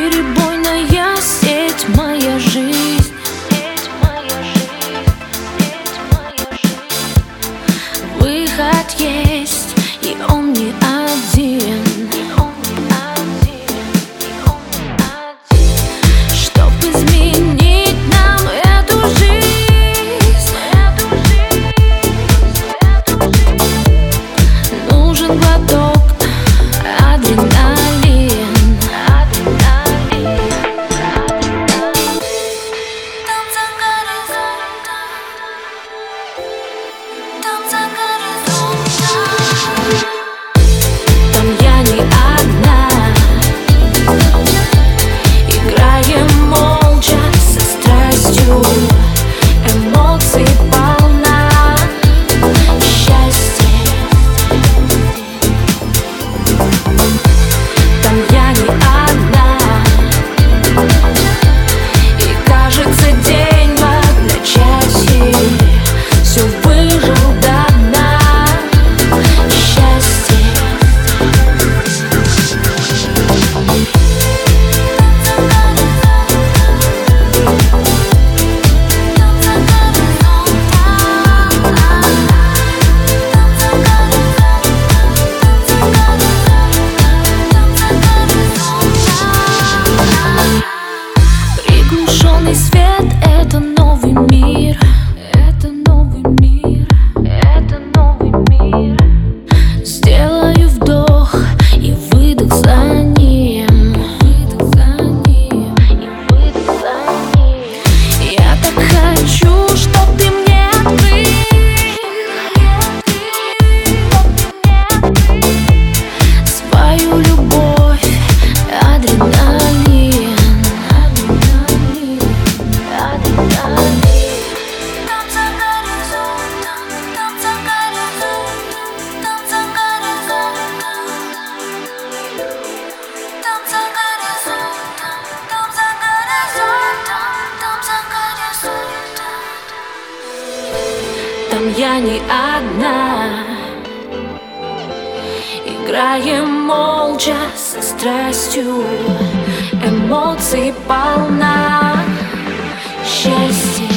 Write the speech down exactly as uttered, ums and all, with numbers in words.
Бесперебойная сеть, моя жизнь. Выход есть, и он не один. Чтоб изменить нам эту жизнь, нужен глоток адреналин. Там за горизонтом, там за горизонтом, там я не одна. Играем молча со страстью, эмоций полна, счастье. Там я не одна, и кажется день в одночасье все выжил до дна, счастье. Приглушенный свет — это новый мир. Это новый мир. Это новый мир. Сделаю вдох и выдох за ним. Выдох за ним. И выдох за ним. Я так хочу, чтоб ты мне открыл свою любовь, адреналин. Там за горизонтом, там за горизонтом, там за горизонтом, там за горизонтом, там за горизонтом, там за горизонтом. Там я не одна. Играем молча со страстью, эмоций полна, счастье.